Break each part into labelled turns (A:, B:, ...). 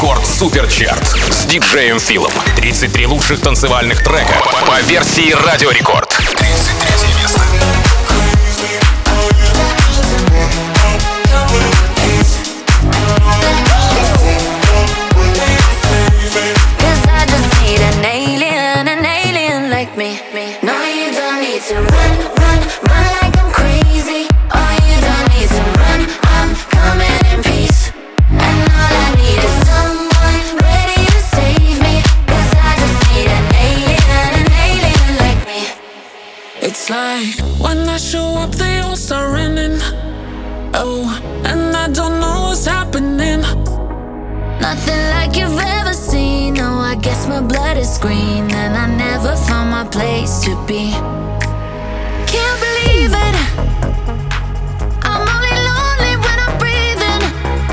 A: Рекорд Суперчарт с диджеем Филом. 33 лучших танцевальных трека по версии Радио Рекорд. 33 место.
B: It's like when I show up, they all start running. Oh, and I don't know what's happening.
C: Nothing like you've ever seen. No, I guess my blood is green, and I never found my place to be. Can't believe it. I'm only lonely when I'm breathing.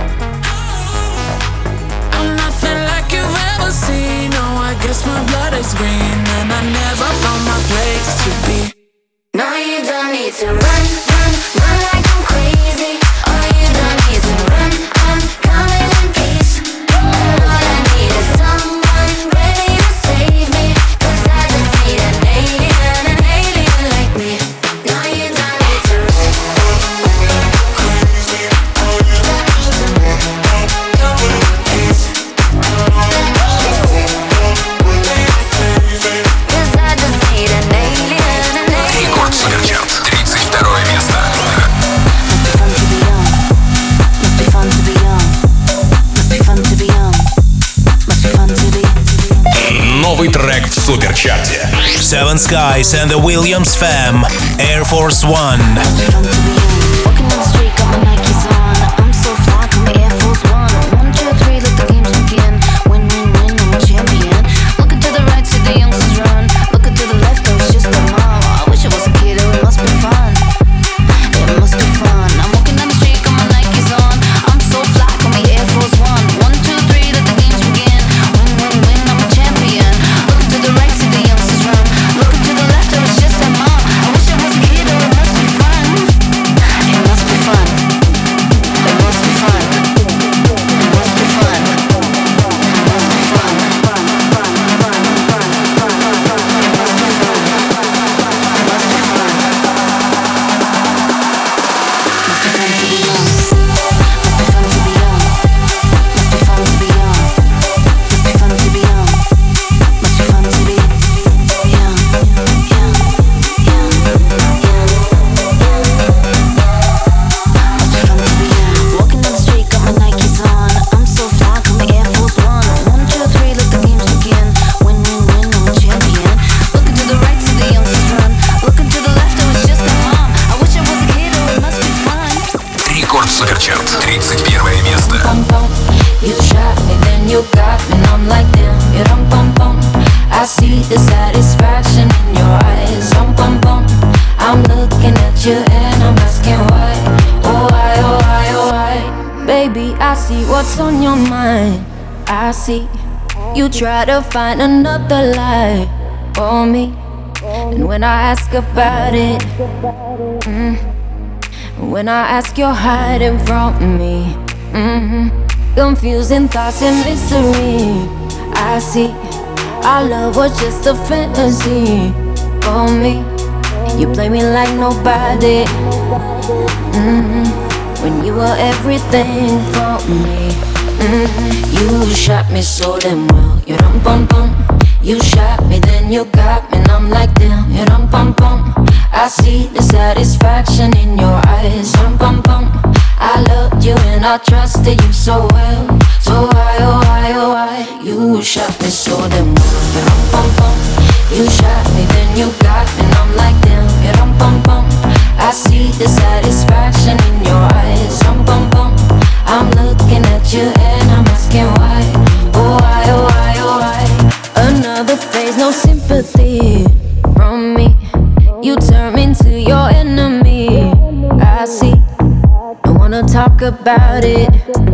B: I'm nothing like you've ever seen. No, I guess my blood is green, and I never found my place to be.
C: No, you don't need to run, run, run like I'm crazy. Oh, you don't need to run, I'm coming in peace. All I need is someone ready to save me, 'cause I just need an alien like me. No, you don't need to run. Crazy. Oh, you don't need to run, coming in peace. 'Cause I just need an alien.
A: Рекорд Суперчарт. 32 место. Новый трек в Суперчарте.
D: Seven Skies and the Williams Fam, Air Force One.
A: Суперчарт. 31 место.
C: You shot me, then you got me, and I'm like damn. You rum pum pum. I see the satisfaction in your eyes. Rum pum pum. I'm looking at you and I'm asking why. Oh why, oh why, oh why. Baby, I see what's on your mind. I see you try to find another lie for me. And when I ask about it, when I ask, you're hiding from me. Confusing thoughts and mystery. I see our love was just a fantasy for me. You play me like nobody. When you were everything for me. You shot me so damn well. You rum pum pum. You shot me, then you got me, and I'm like damn. You rum pum pum. I see the satisfaction in your eyes. Rum pum pum. I loved you and I trusted you so well. So why, oh why, oh why? You shot me so damn well. You rum pum pum. You shot me, then you got me, and I'm like damn. You rum pum pum. I see the satisfaction in your eyes. Rum pum pum. I'm looking at you and I'm asking why. Oh why, oh why, oh why? Another phase, no sympathy from me. You turn me into your enemy. I see. Don't wanna talk about it.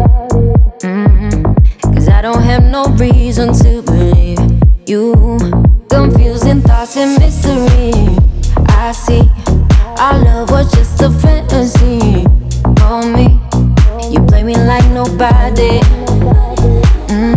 C: Cause I don't have no reason to believe you. Confusing thoughts and mystery. I see. Our love was just a fantasy for me. You play me like nobody.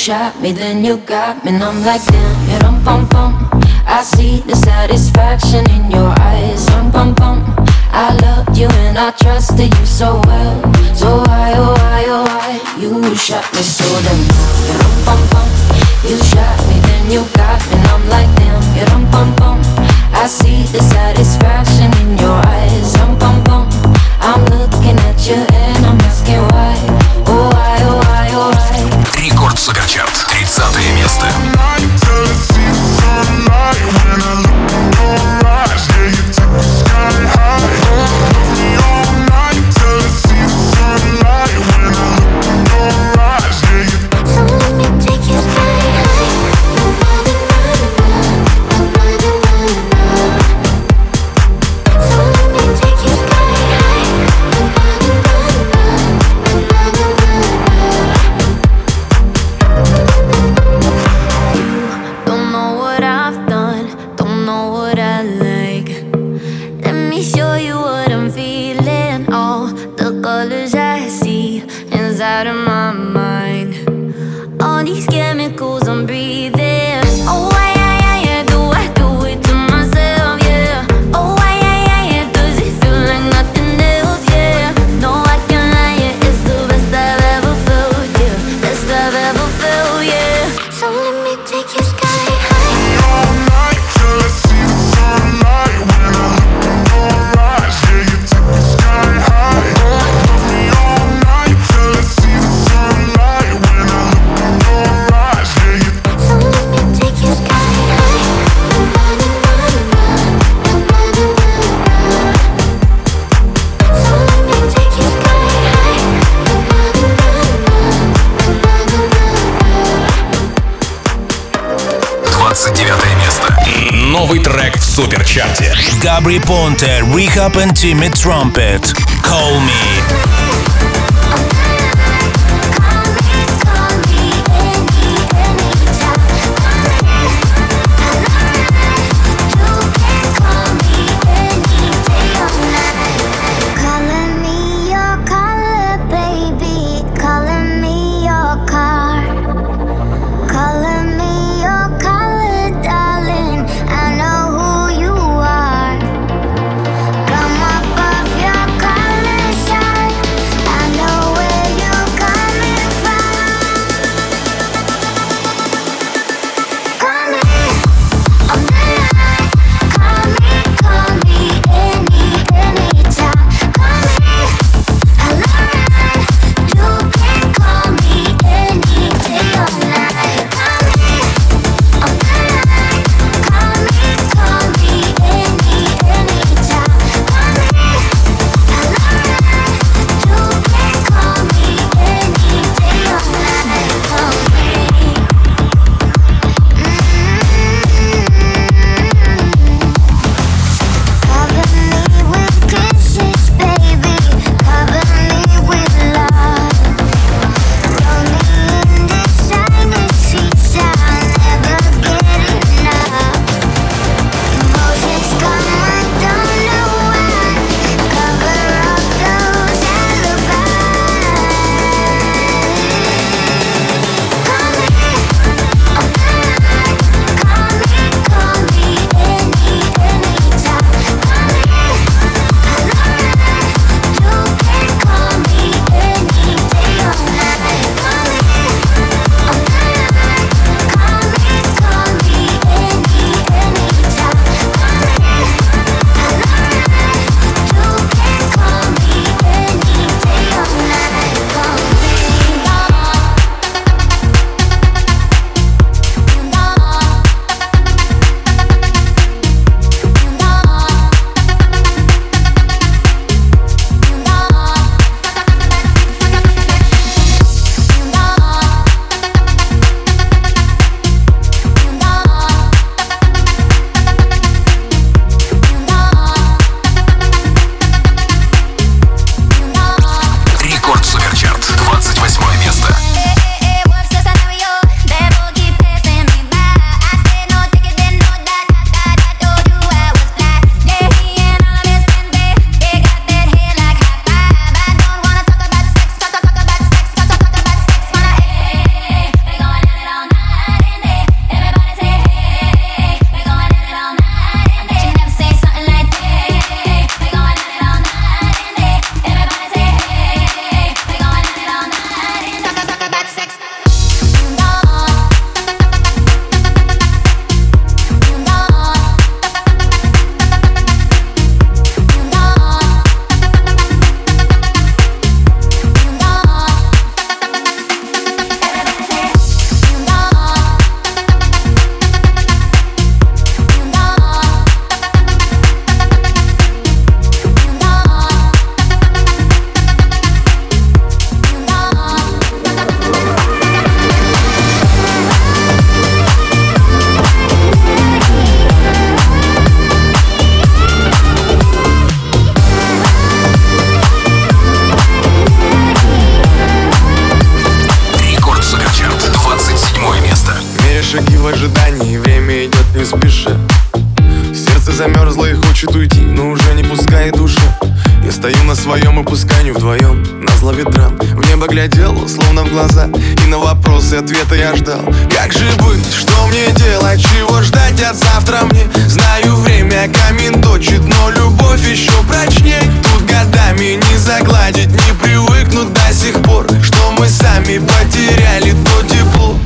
C: shot me, then you got me, and I'm like damn, you dum bum bum. I see the satisfaction in your eyes, dum bum bum. I loved you and I trusted you so well. So why, oh why, oh why? You shot me so damn well. You dum bum bum. You shot me, then you got me, and I'm like damn. You dum bum bum. I see the satisfaction in your eyes, dum bum bum. I'm looking at you and I'm asking why. Oh why, oh why, oh why?
A: Рекорд Суперчарт, 30 место. Новый трек в Суперчарте.
D: Gabry Ponte, Rehab and Timmy Trumpet. Call Me.
E: Come up off your collar shine. I know where устала и хочет уйти, но уже не пускает душа. Я стою на своем и пускай не вдвоем, назло ветрам. В небо глядел, словно в глаза, и на вопросы ответа я ждал. Как же быть, что мне делать, чего ждать от завтра мне? Знаю, время камень точит, но любовь еще прочней. Тут годами не загладить, не привыкнуть до сих пор, что мы сами потеряли то тепло.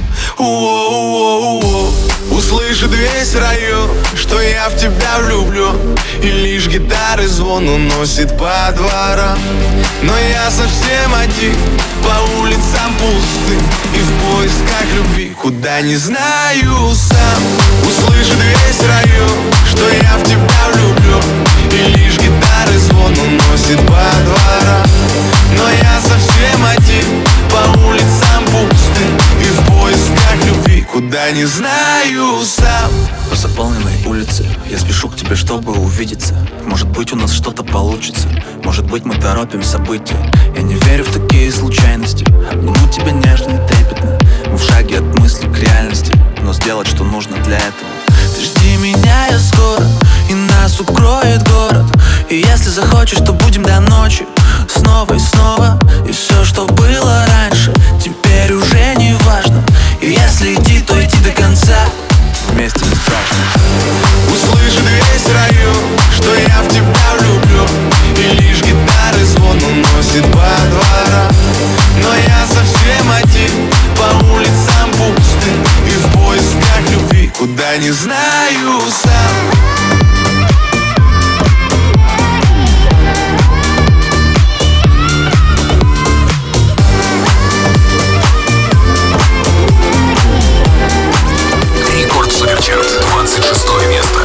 E: Услышит весь район, что я в тебя влюблен, и лишь гитары звон уносит по дворам. Но я совсем один, по улицам пустым, и в поисках любви, куда не знаю сам. Услышит весь район, что я в тебя влюблен, и лишь гитары звон уносит по дворам. Но я совсем один, по улицам пустым, и в поисках любви, куда не знаю сам.
F: По заполненной улице я спешу к тебе, чтобы увидеться. Может быть, у нас что-то получится, может быть, мы торопим события. Я не верю в такие случайности, обниму тебя нежно и трепетно. Мы в шаге от мысли к реальности, но сделать, что нужно для этого. Ты жди меня, я скоро, и нас укроет город. И если захочешь, то будем до ночи, снова и снова. И все, что было раньше, теперь уже не важно. И если идти, то идти до конца, вместе не страшно.
E: Услышит весь район, что я в тебя влюблен, и лишь гитары звон уносит по дворам. Но я совсем один, по улицам пустым, и в поисках любви, куда не знаю сам.
A: Рекорд Суперчарт, 26 место.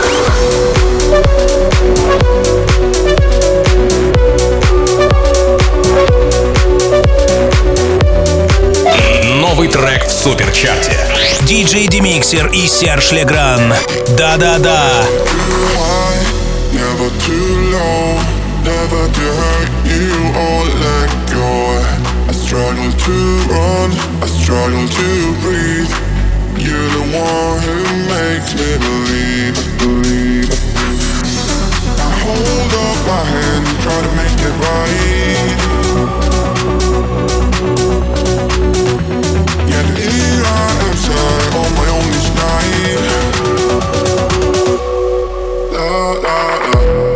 A: Новый трек в Суперчарте.
D: DJ Demixer и Серж Легран. Да-да-да.
G: Never too low, never to hurt you or let go. I struggle to run, I struggle to breathe. You're the one who makes me believe. I hold up my hand, try to make it right. Yet here I am sad on my own each night. La la la.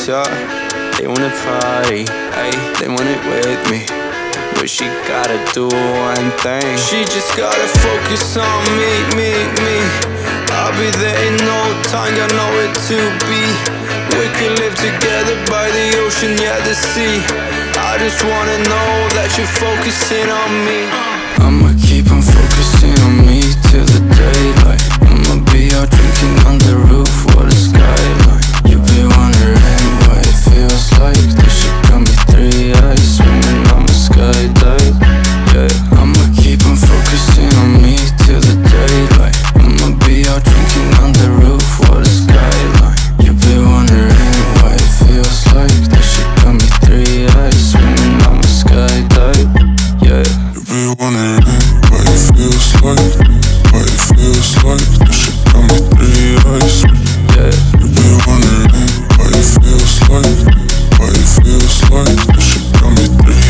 H: yeah. They wanna party, ay, they want it with me, but she gotta do one thing. She just gotta focus on me. I'll be there in no time, got nowhere to be. We could live together by the ocean, yeah, the sea. I just wanna know that you're focusing on me. I'ma keep on focusing on me till the daylight. I'ma be out drinking on the roof, what a skyline. You'll be wondering what it feels like. This shit got me 3 eyes, swimming on my skydive. Yeah, I'ma keep on focusing on me till the daylight. I'ma be out drinking on the roof, what a skyline. You'll be wondering what it feels like. This shit got me 3 eyes, swimming on my skydive. Yeah.
G: You'll be wondering what it feels like. What it feels like. This shit got me 3 eyes.
H: Yeah.
G: You'll be wondering what it feels like. What it feels like. This shit got me 3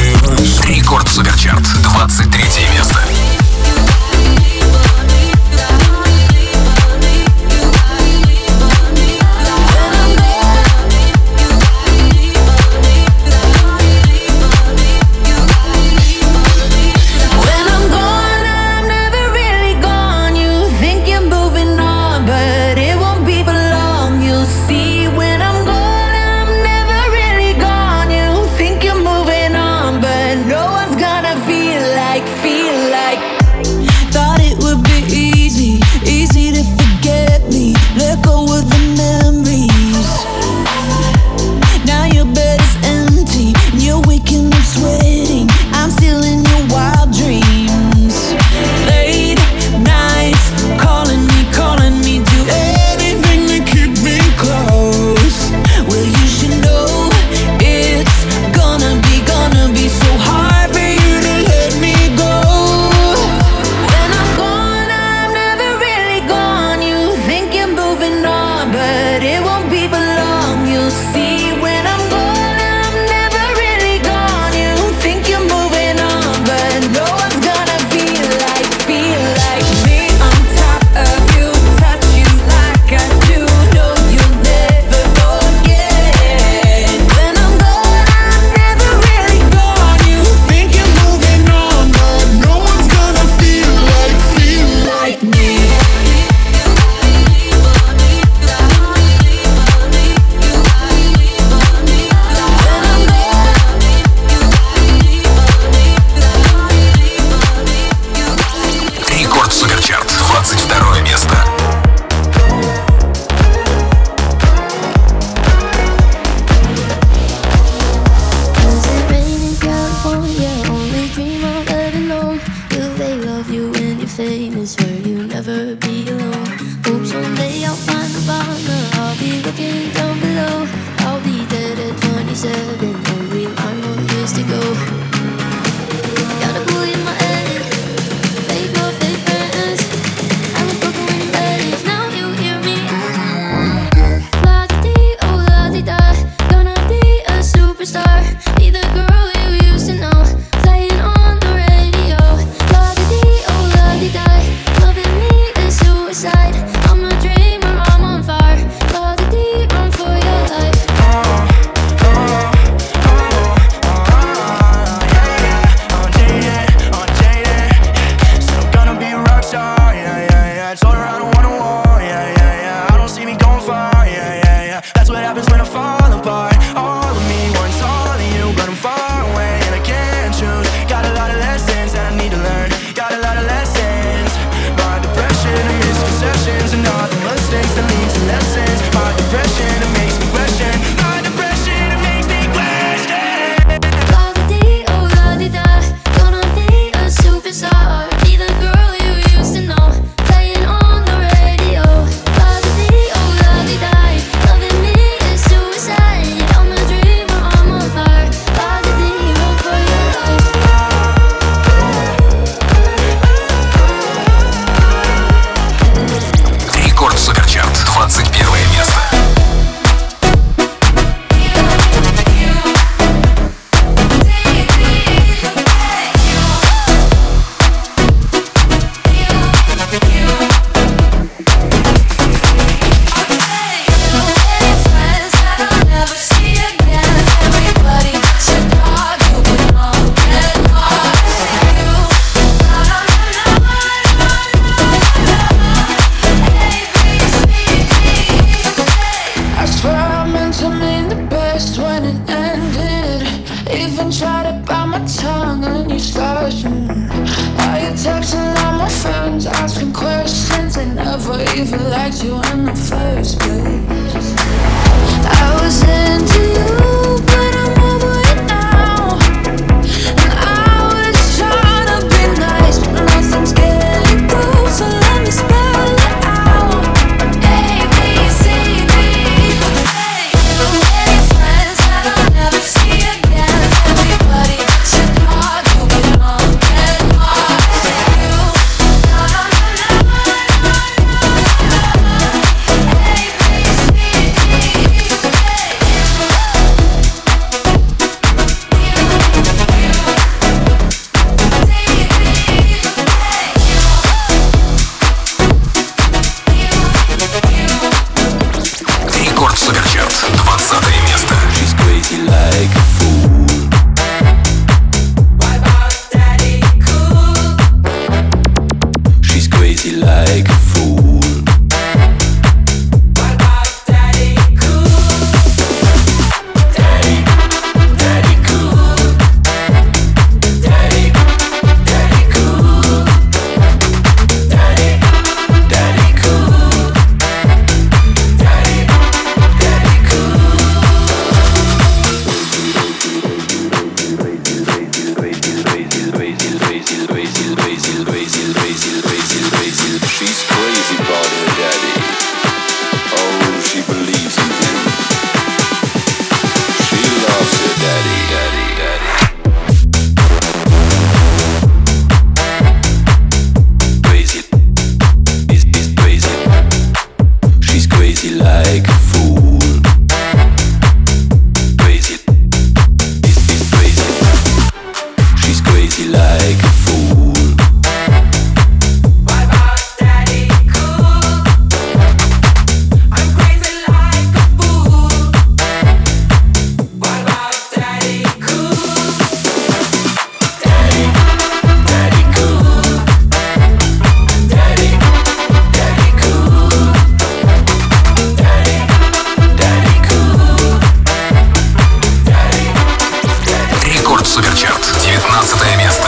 B: chose you in the first place. I was into you, but I'm over it now. And I was trying to be nice, but nothing's getting through. So let me spell it out. A, B, C, D, hey. So many friends that I'll never see again. Everybody but your dog, you belong in Mars. You, no, no, no, no, no, no, no. A, B, C, D, hey.
A: Рекорд Суперчарт, 20 место.
F: She's crazy like a fool. She's crazy like a fool. Daddy, daddy cool. Daddy, daddy cool. Daddy, daddy cool. Daddy, daddy cool. She's crazy about her daddy. Oh, she believes in him. She loves her daddy, daddy, daddy. Crazy, he's crazy. She's crazy like a fool. Crazy, he's crazy. She's crazy like a fool.
A: Рекорд Суперчарт, 19 место.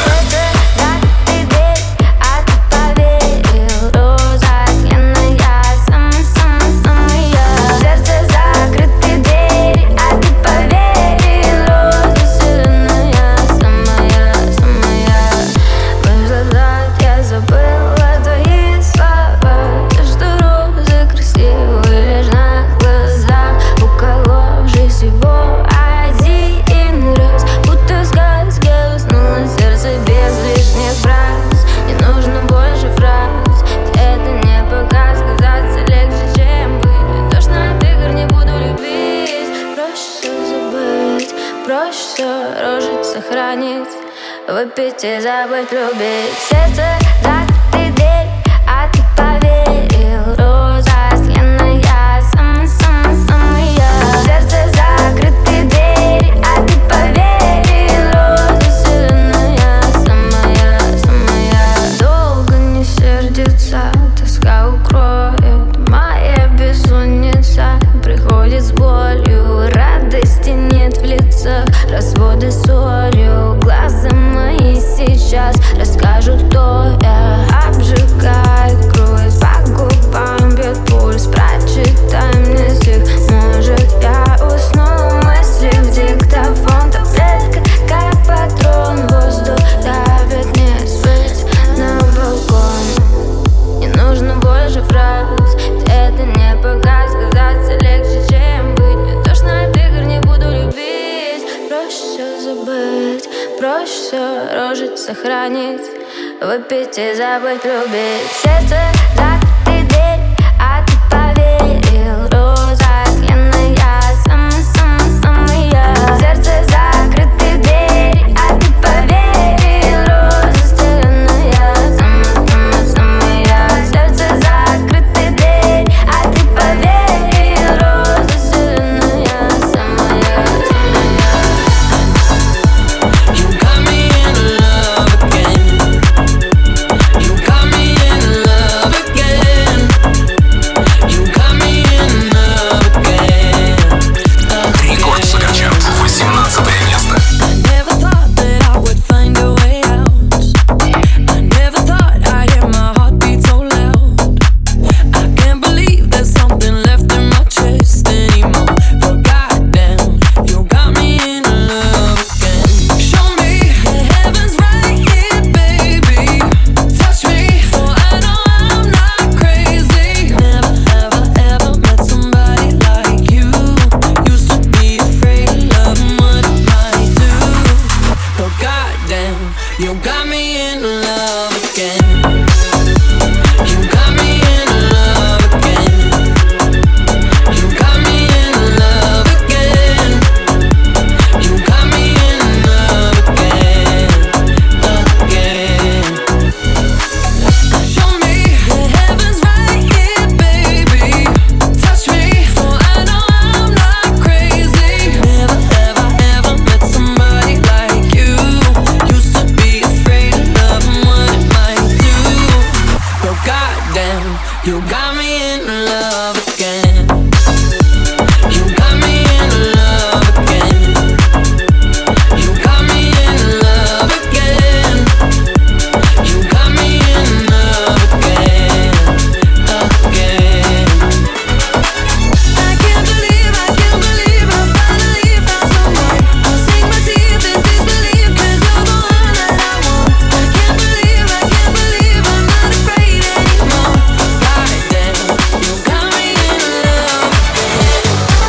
C: Выпить и забыть, любить. Сердце закрытый дверь, а ты поверил. Роза сленная, самая. Сердце закрытый дверь, а ты поверил. Роза сленная, самая. Долго не сердится, тоска укроет. Моя бессонница приходит с болью. Радости нет в лицах, разводы солью. Глаза мои сейчас расскажут, кто я. Обжигает кровь, по губам бьет пульс. Прочитай мне стих, может я усну. Мысли в диктофон, таблетка как патрон. Воздух давит, не спать на балкон. Не нужно больше фраз, это не показ. Казаться легче, чем быть. Мне тошно от игр, не буду любить. Проще все забыть, проще все рожить, сохранить. Выпить и забыть, любить. Сердце закрытый дверь, а ты поверил. Роза сленная, самая. Сердце закрытый дверь, а ты поверил. Роза сленная, самая. Сердце закрытый дверь, а ты поверил. Роза сленная, самая.
H: You got me in love again. You got me in love again. You got me in love again. You got me in love again. You got me in love again. You got me in love again, again. Show me the heavens right here, baby. Touch me so I know I'm not crazy. Never have I ever met somebody like you. Used to be afraid of love and what it might do. But goddamn, you got me in love again. You got me in love again. You got me in love again. You got me in love again, again. I can't believe I finally found someone. I'll sink my teeth in disbelief 'cause you're the one that I want. I can't believe I'm not afraid anymore. Goddamn, you got me in love again.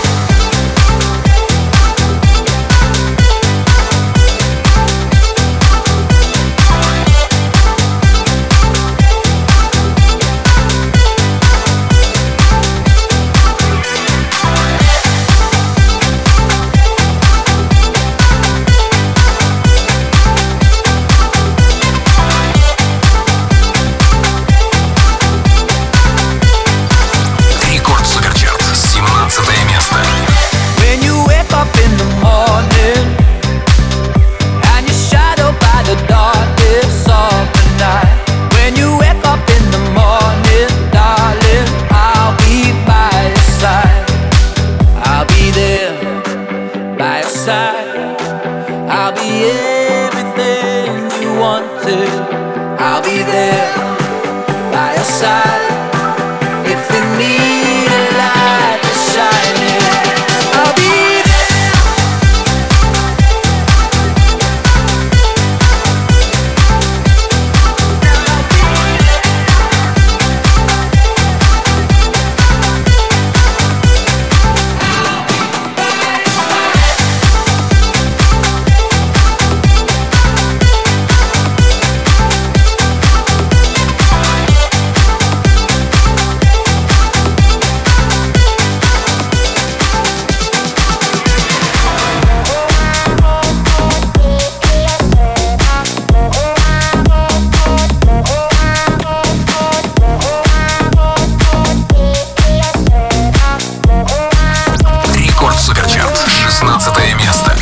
A: Рекорд Суперчарт, 17 место.
H: When you wake up in the morning and you're shadowed by the darkness of the night. When you wake up in the morning, darling, I'll be by your side. I'll be there by your side. I'll be everything you wanted. I'll be there by your side. If you need a light to shine in, I'll be there.
A: Рекорд Суперчарт, 16 место.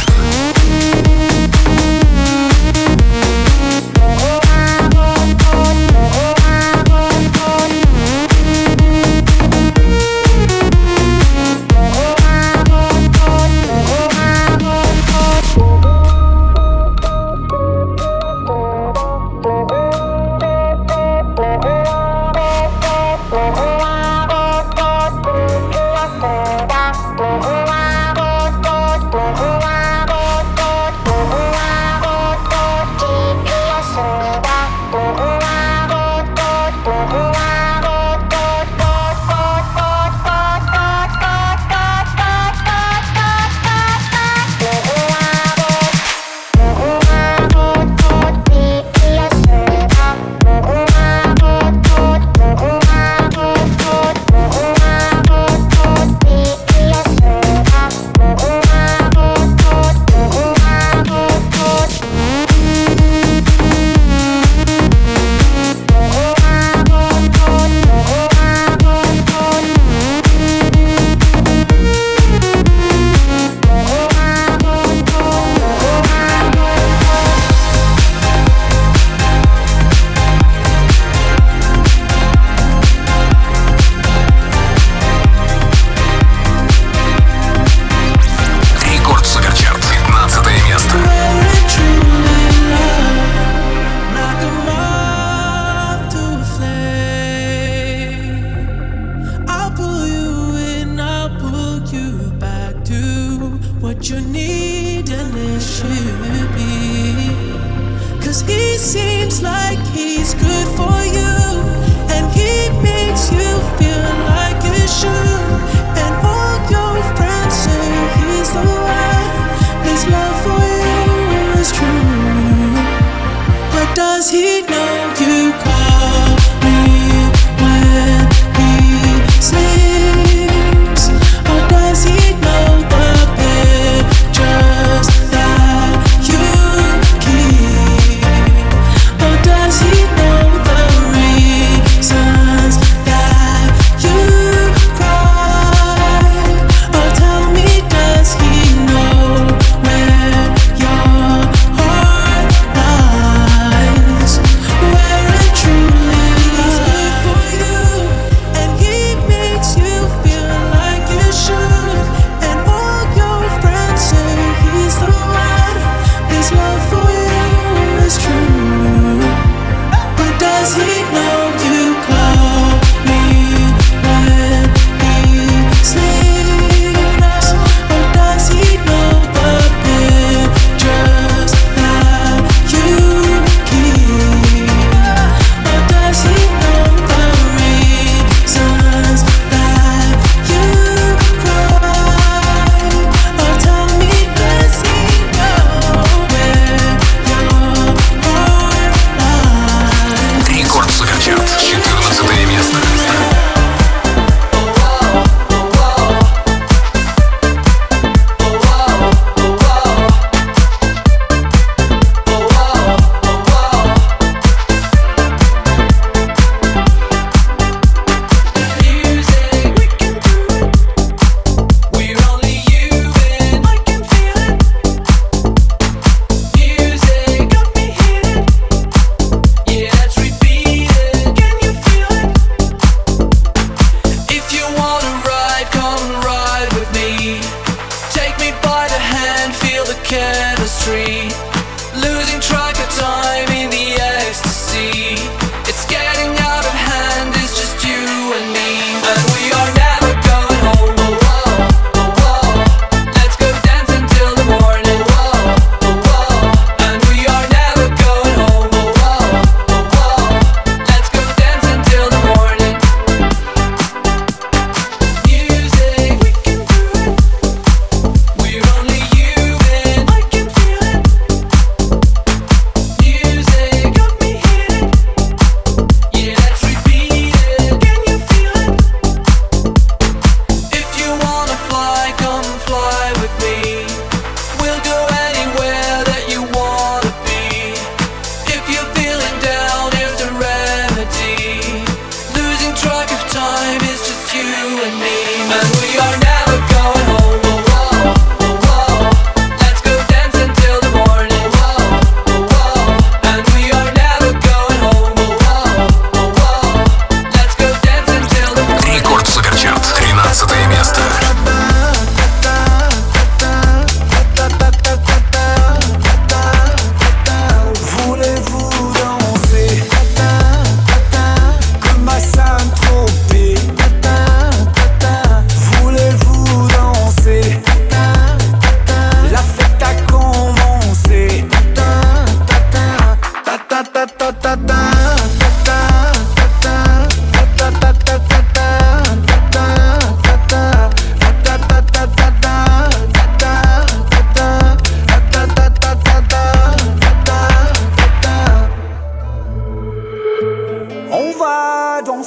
A: Рекорд Суперчарт, 15 место.
I: What you need and it should be. 'Cause he seems like he's good for you, and he makes you feel like you should. And all your friends say he's the one. His love for you is true.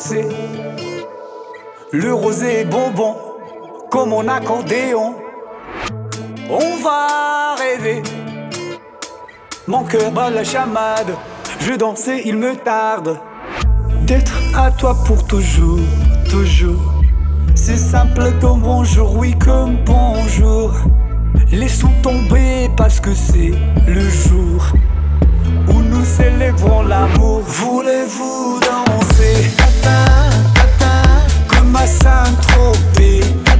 J: danser. Le rosé bonbon, comme mon accordéon. On va rêver. Mon cœur bat la chamade. Je danse et il me tarde d'être à toi pour toujours, toujours. C'est simple comme bonjour, oui comme bonjour. Laissons tomber parce que c'est le jour où nous célébrons l'amour. Voulez-vous danser comme à Saint-Tropez?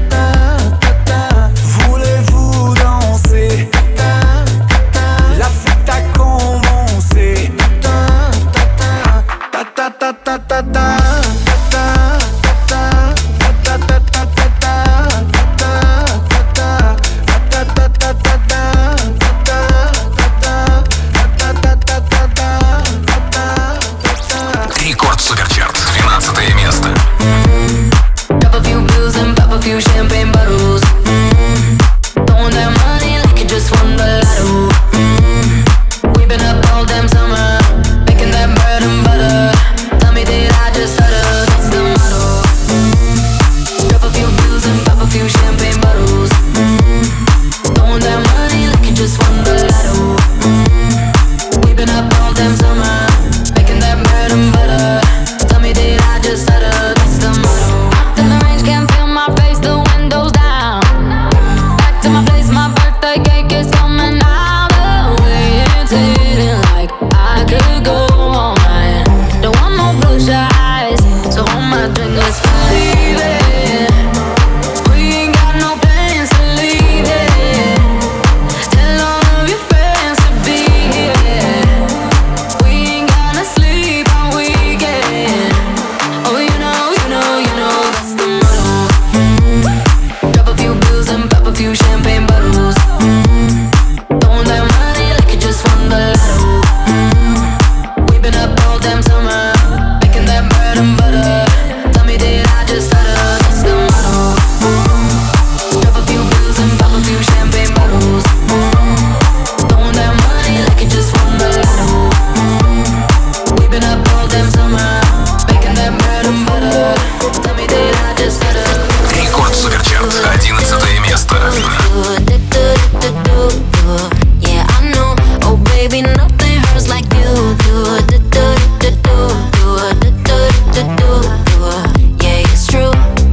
J: Voulez-vous danser? La fête a commencé.
A: Рекорд Суперчарт, 12 место.
C: Drop a few bills and pop a few champagne bottles. Throwing that money like you just won the lotto. We've been up all damn summer, making that bread and butter. Tell me did I just stutter? That's the motto. Drop a few bills and pop a few champagne bottles. Throwing that money like you just won the lotto. We've been up all damn summer, making that bread and butter. Tell me did I just stutter? That's the motto. Out in the range, can't feel my face, the windows down. Back to my place, my birthday cake is coming out. The way it's hitting like I could go all night. Don't want no blue eyes, so hold my drink, let's leave it. We ain't got no plans to leave it. Tell all of your friends to be here. We ain't gonna sleep all weekend. Oh, you know, that's the motto. Drop a few bills and pop a few champagne bottles. Throwing that money like you just won the lotto. We've been up all damn summer, making that bread and butter. Tell me did I just stutter? That's the motto. Drop a few bills and pop a few champagne bottles. Throwing that money like you just won the lotto. We've been up all damn summer, making that bread and butter. Tell me did I just stutter?
A: Рекорд Суперчарт, 11 место.
C: Yeah, I know. Oh, baby, nothing hurts like you do. Yeah, it's true.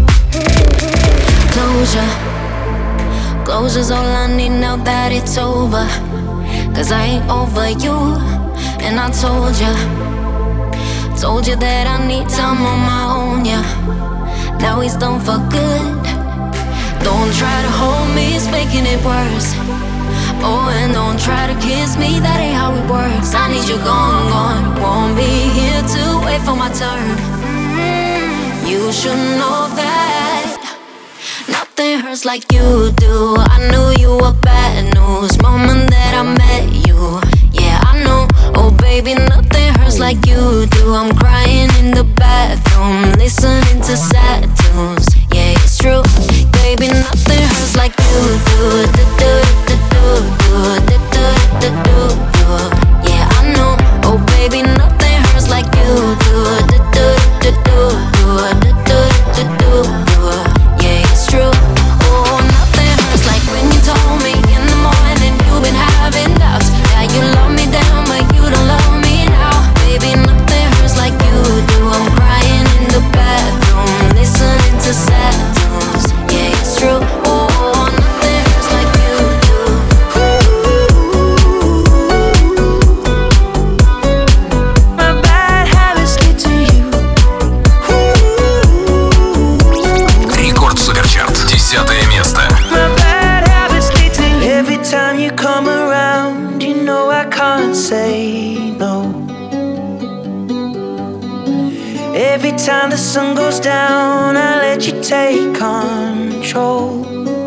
C: Closure's all I need now that it's over. 'Cause I ain't over you. And I told you that I need time on my own, yeah. Now he's done for good. Don't try to hold me, it's making it worse. Oh, and don't try to kiss me, that ain't how it works. I need you gone. Won't be here to wait for my turn. You should know that nothing hurts like you do. I knew you were bad news moment that I met you. Yeah, I know. Oh, baby, nothing hurts like you do. I'm crying in the bathroom, listening to sad tunes. Yeah, it's true. Baby, nothing hurts like you do. Yeah, I know. Oh, baby, nothing hurts like you do. Yeah, it's true. Oh, nothing hurts like when you told me in the morning you've been having doubts. Yeah, you love me down, but you don't love me now. Baby, nothing hurts like you do. I'm crying in the bathroom, listening to sad tunes. Yeah, it's true. Oh, nothing hurts like you do. My bad habits lead to you.
A: Рекорд Суперчарт, 10 место.
I: My bad habits lead to you. Every time you come around, you know I can't say no. Every time the sun goes down, I let you take control.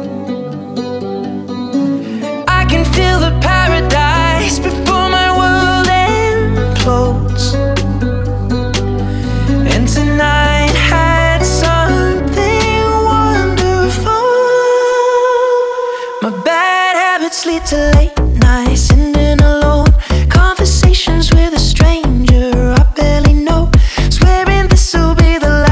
I: I can feel the paradise before my world implodes. And tonight had something wonderful. My bad habits lead to late nights, ending alone. Conversations with a stranger I barely know. Swearing this'll be the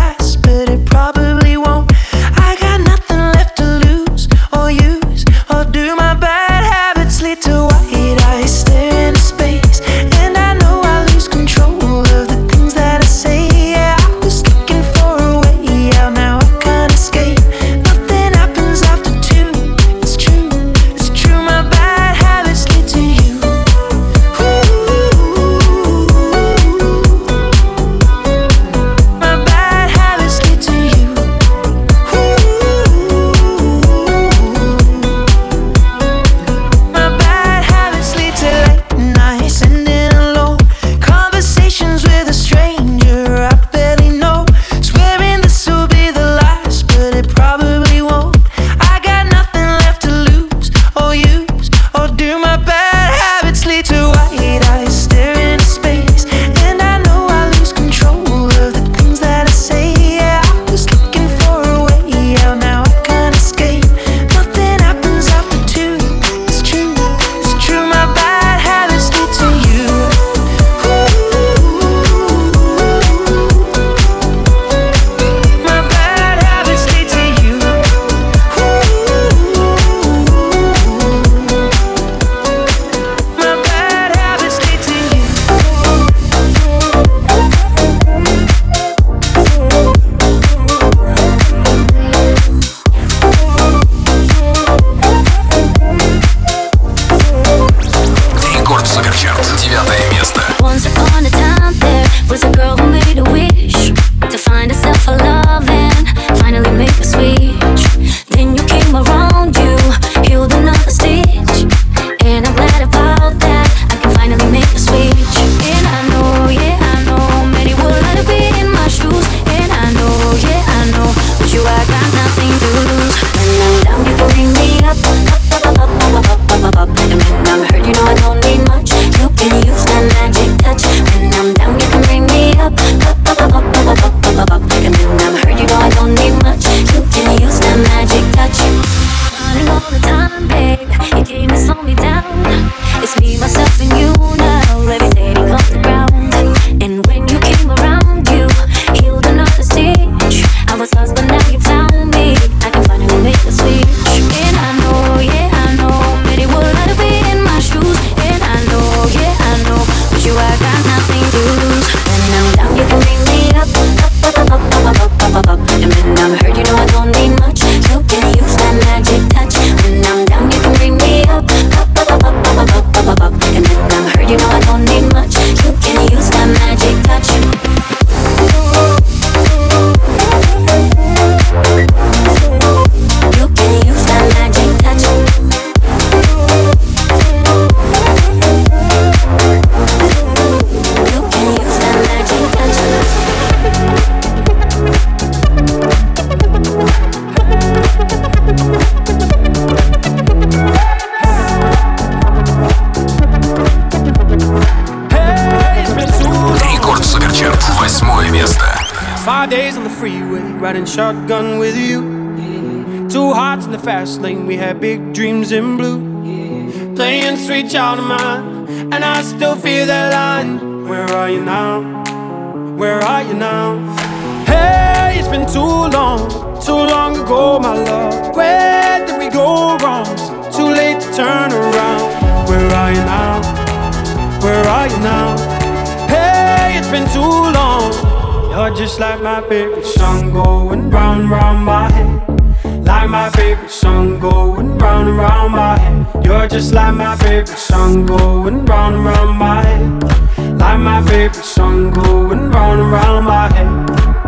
A: 8 место.
I: 5 days on the freeway, riding shotgun with you. 2 hearts in the fast lane, we had big dreams in blue. Playing sweet child of mine, and I still feel that line. Where are you now? Where are you now? Hey, it's been too long ago, my love. Where did we go wrong? Too late to turn around. Where are you now? Where are you now? Hey, it's been too long. You're just like my favorite song going round and round my head. Like my favorite song going round and round my head. You're just like my favorite song going round and round my head. Like my favorite song going round and round my head.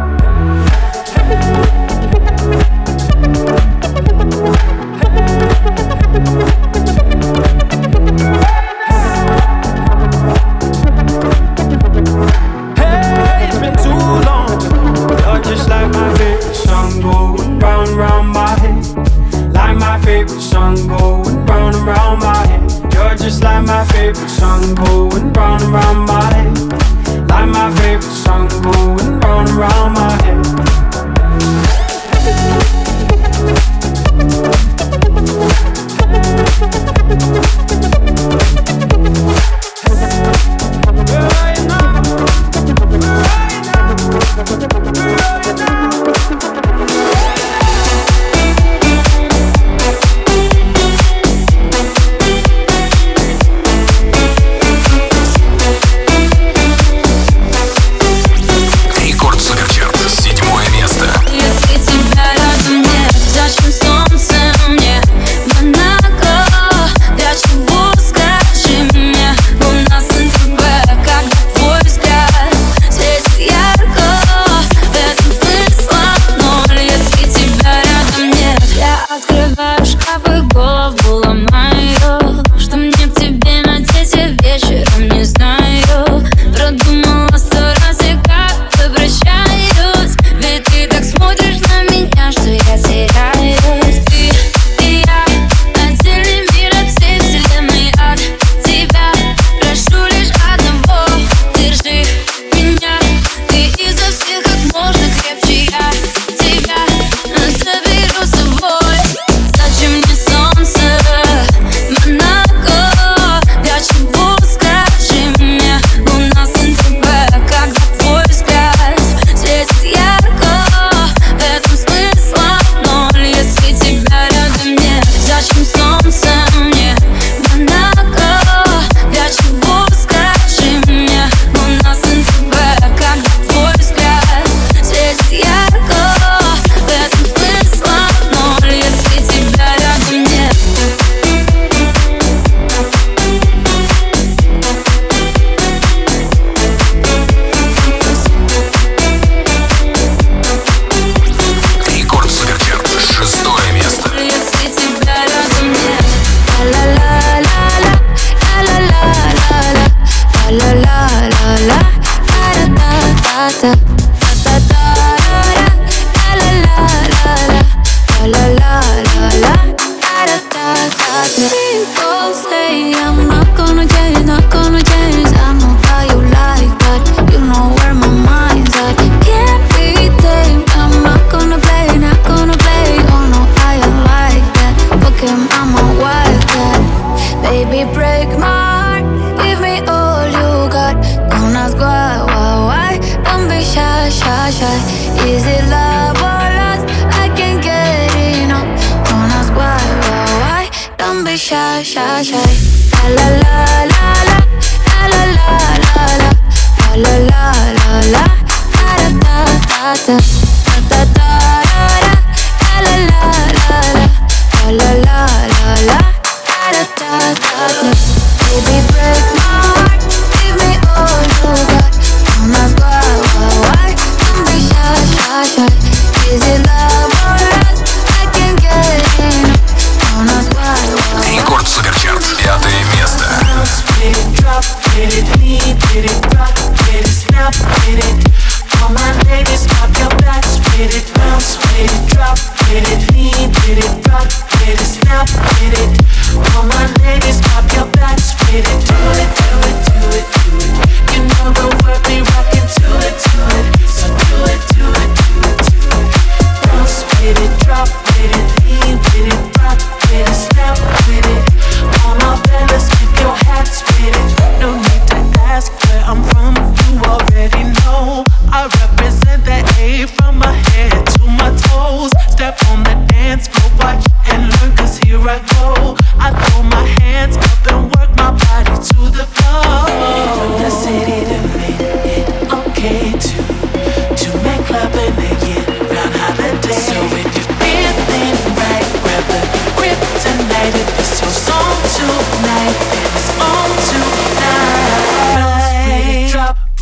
I: Hey, it's been too long. You're just like my favorite song going round and round my head. Like my favorite song going round and round my head. You're just like my favorite song going round and round my head. Like my favorite song going round and round my head.
B: Baby, break my heart, give me all you got. Don't ask why.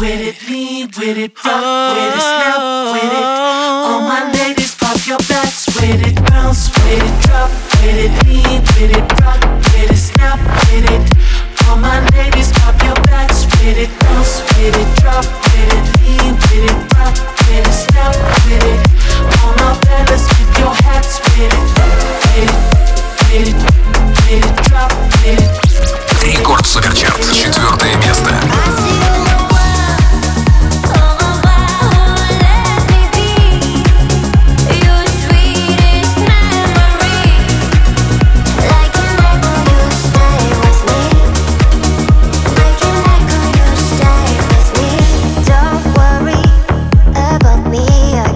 K: with it, lean with it, rock with it, snap with it. All my ladies, pop your backs with it, bounce with it, drop with it, lean with it, rock with it, snap with it. All my ladies, pop your backs with it, bounce with it, drop with it, lean with it, rock with it, snap with it. All my fellas, with your hats with it, with it, with it, drop with it.
A: Рекорд Суперчарт, 4 место.
L: Don't worry about me.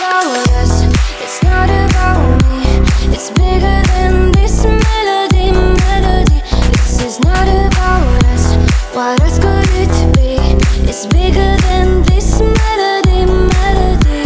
B: about us, it's not about me. It's bigger than this melody, melody. This is not about us. What else could it be? It's bigger than this melody, melody.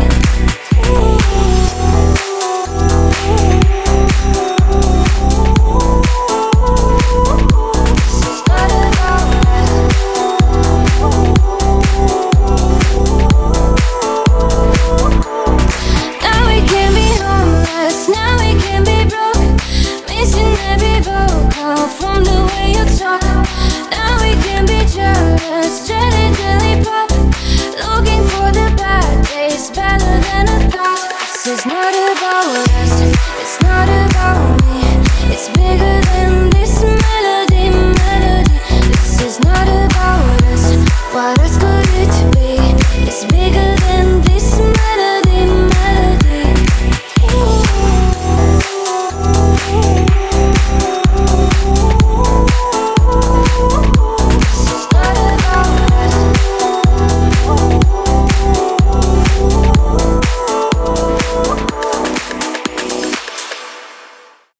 B: Now we can be homeless, now we can be broke, missing every vocal from the way you talk. Now we can be jealous, jelly, jelly pop, looking for the bad days, better than a thought. This is not about us, it's not about me. It's bigger than this melody, melody. This is not about us. What else